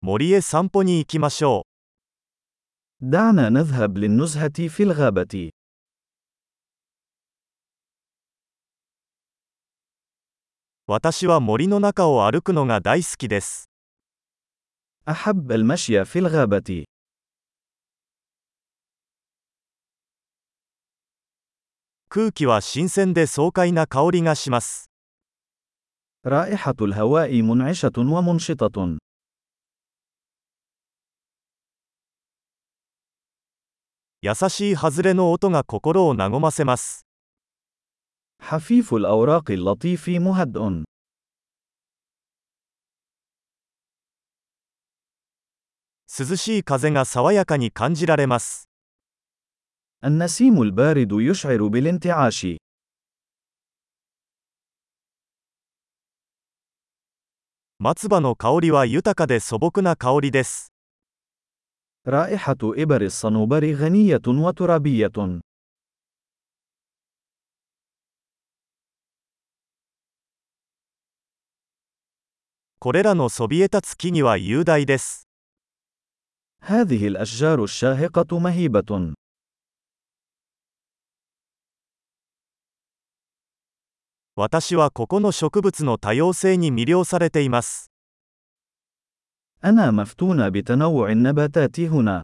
森へ散歩に行きましょ دعنا نذهب للنزهة في الغابة. う。私は森の中を歩くのが大好きです。 أحب المشي في الغابة. 空気は新鮮で爽快な香りがします。 رائحة الهواء منعشة ومنشطة. 優しい外れの音が心を和ませます。 حفيف الأوراق اللطيف مهدئ. 涼しい風が爽やかに感じられます。 النسيم البارد يشعر بالانتعاش. 松葉の香りは豊かで素朴な香りです。 رائحة إبر الصنوبر غنية وترابية. これらのそびえ立つ木々は雄大です。 هذه الأشجار الشاهقة مهيبة. 私はここの植物の多様性に魅了されています。 أنا مفتون بتنوع النباتات هنا.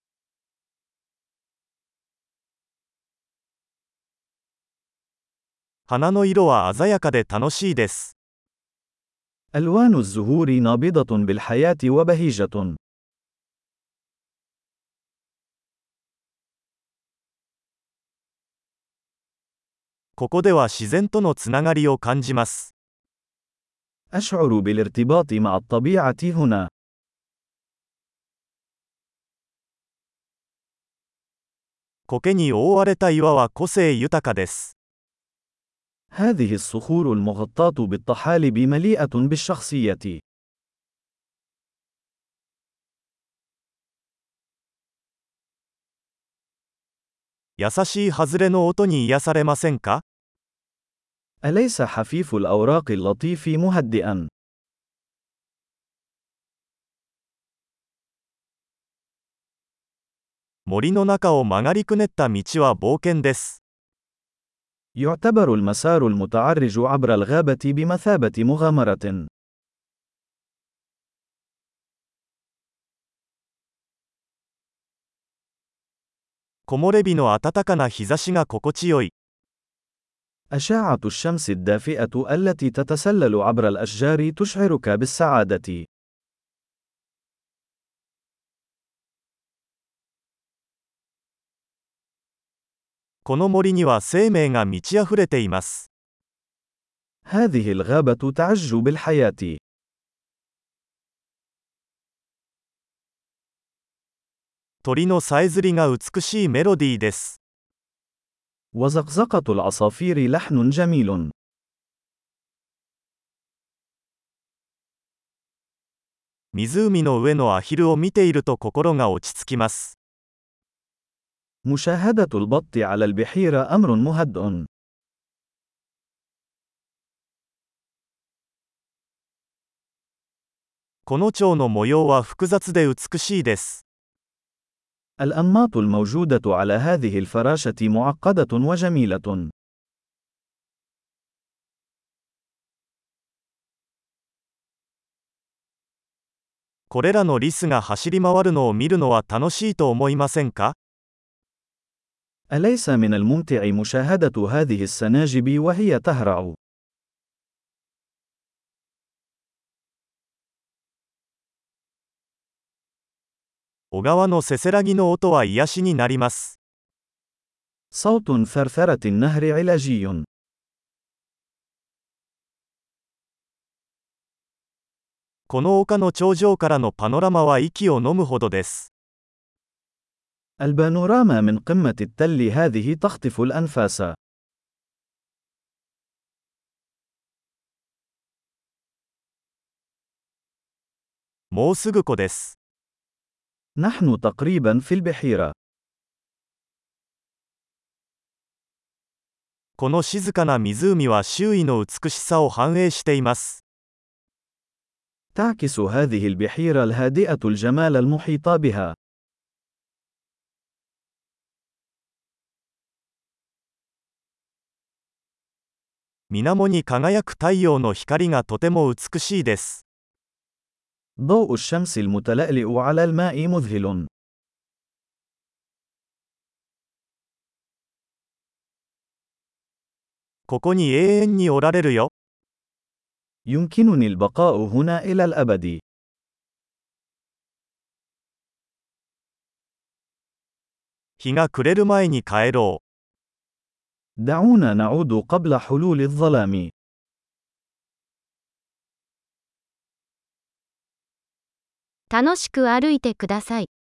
花の色は鮮やかで楽しいです。 ألوان الزهور نابضة بالحياة وبهيجة. ここでは自然とのつながりを感じます。 أشعر بالارتباط مع الطبيعة هنا. 苔に覆われた岩は個性豊かです。 هذه الصخور المغطاة بالطحالب مليئة بالشخصية. 優しい外れの音に癒されませんか？ أليس حفيف الأوراق اللطيف مهدئا؟ 森の中を曲がりくねった道は冒険です。 يعتبر المسار المتعرج عبر الغابة بمثابة مغامرة. 木漏れ日の暖かな日差しが心地よい。 أشعة الشمس الدافئة التي تتسلل عبر الأشجار تشعرك بالسعادة. この森には生命が満ち溢れています。 هذه الغابة تعج بالحياة. 鳥のさえずりが美しいメロディーです。 وزقزقة العصافير لحن جميل. 湖の上のアヒルを見ていると心が落ち着きます。 مشاهدة البط على البحيرة أمر مهدئ. この蝶の模様は複雑で美しいです。 الأنماط الموجودة على هذه الفراشة معقدة وجميلة. これらのリスが走り回るのを見るのは楽しいと思いませんか？ أليس من الممتع مشاهدة هذه السناجب وهي تهرع؟ 小川のせせらぎの音は癒しになります。 صوت ثرثرة النهر علاجي. この丘の頂上からのパノラマは息を飲むほどです。 البانوراما من قمة التل هذه تخطف الأنفاس. もうすぐ湖です。 نحن تقريبا في البحيرة. この静かな湖は周囲の美しさを反映しています。 تعكس هذه البحيرة الهادئة الجمال المحيط بها. 水面に輝く太陽の光がとても美しいです。 ضوء الشمس المتلألئ على الماء مذهل. ここに永遠におられるよ。 يمكنني البقاء هنا إلى الأبد. 日が暮れる前に帰ろう。 دعونا نعود قبل حلول الظلام. 楽しく歩いてください。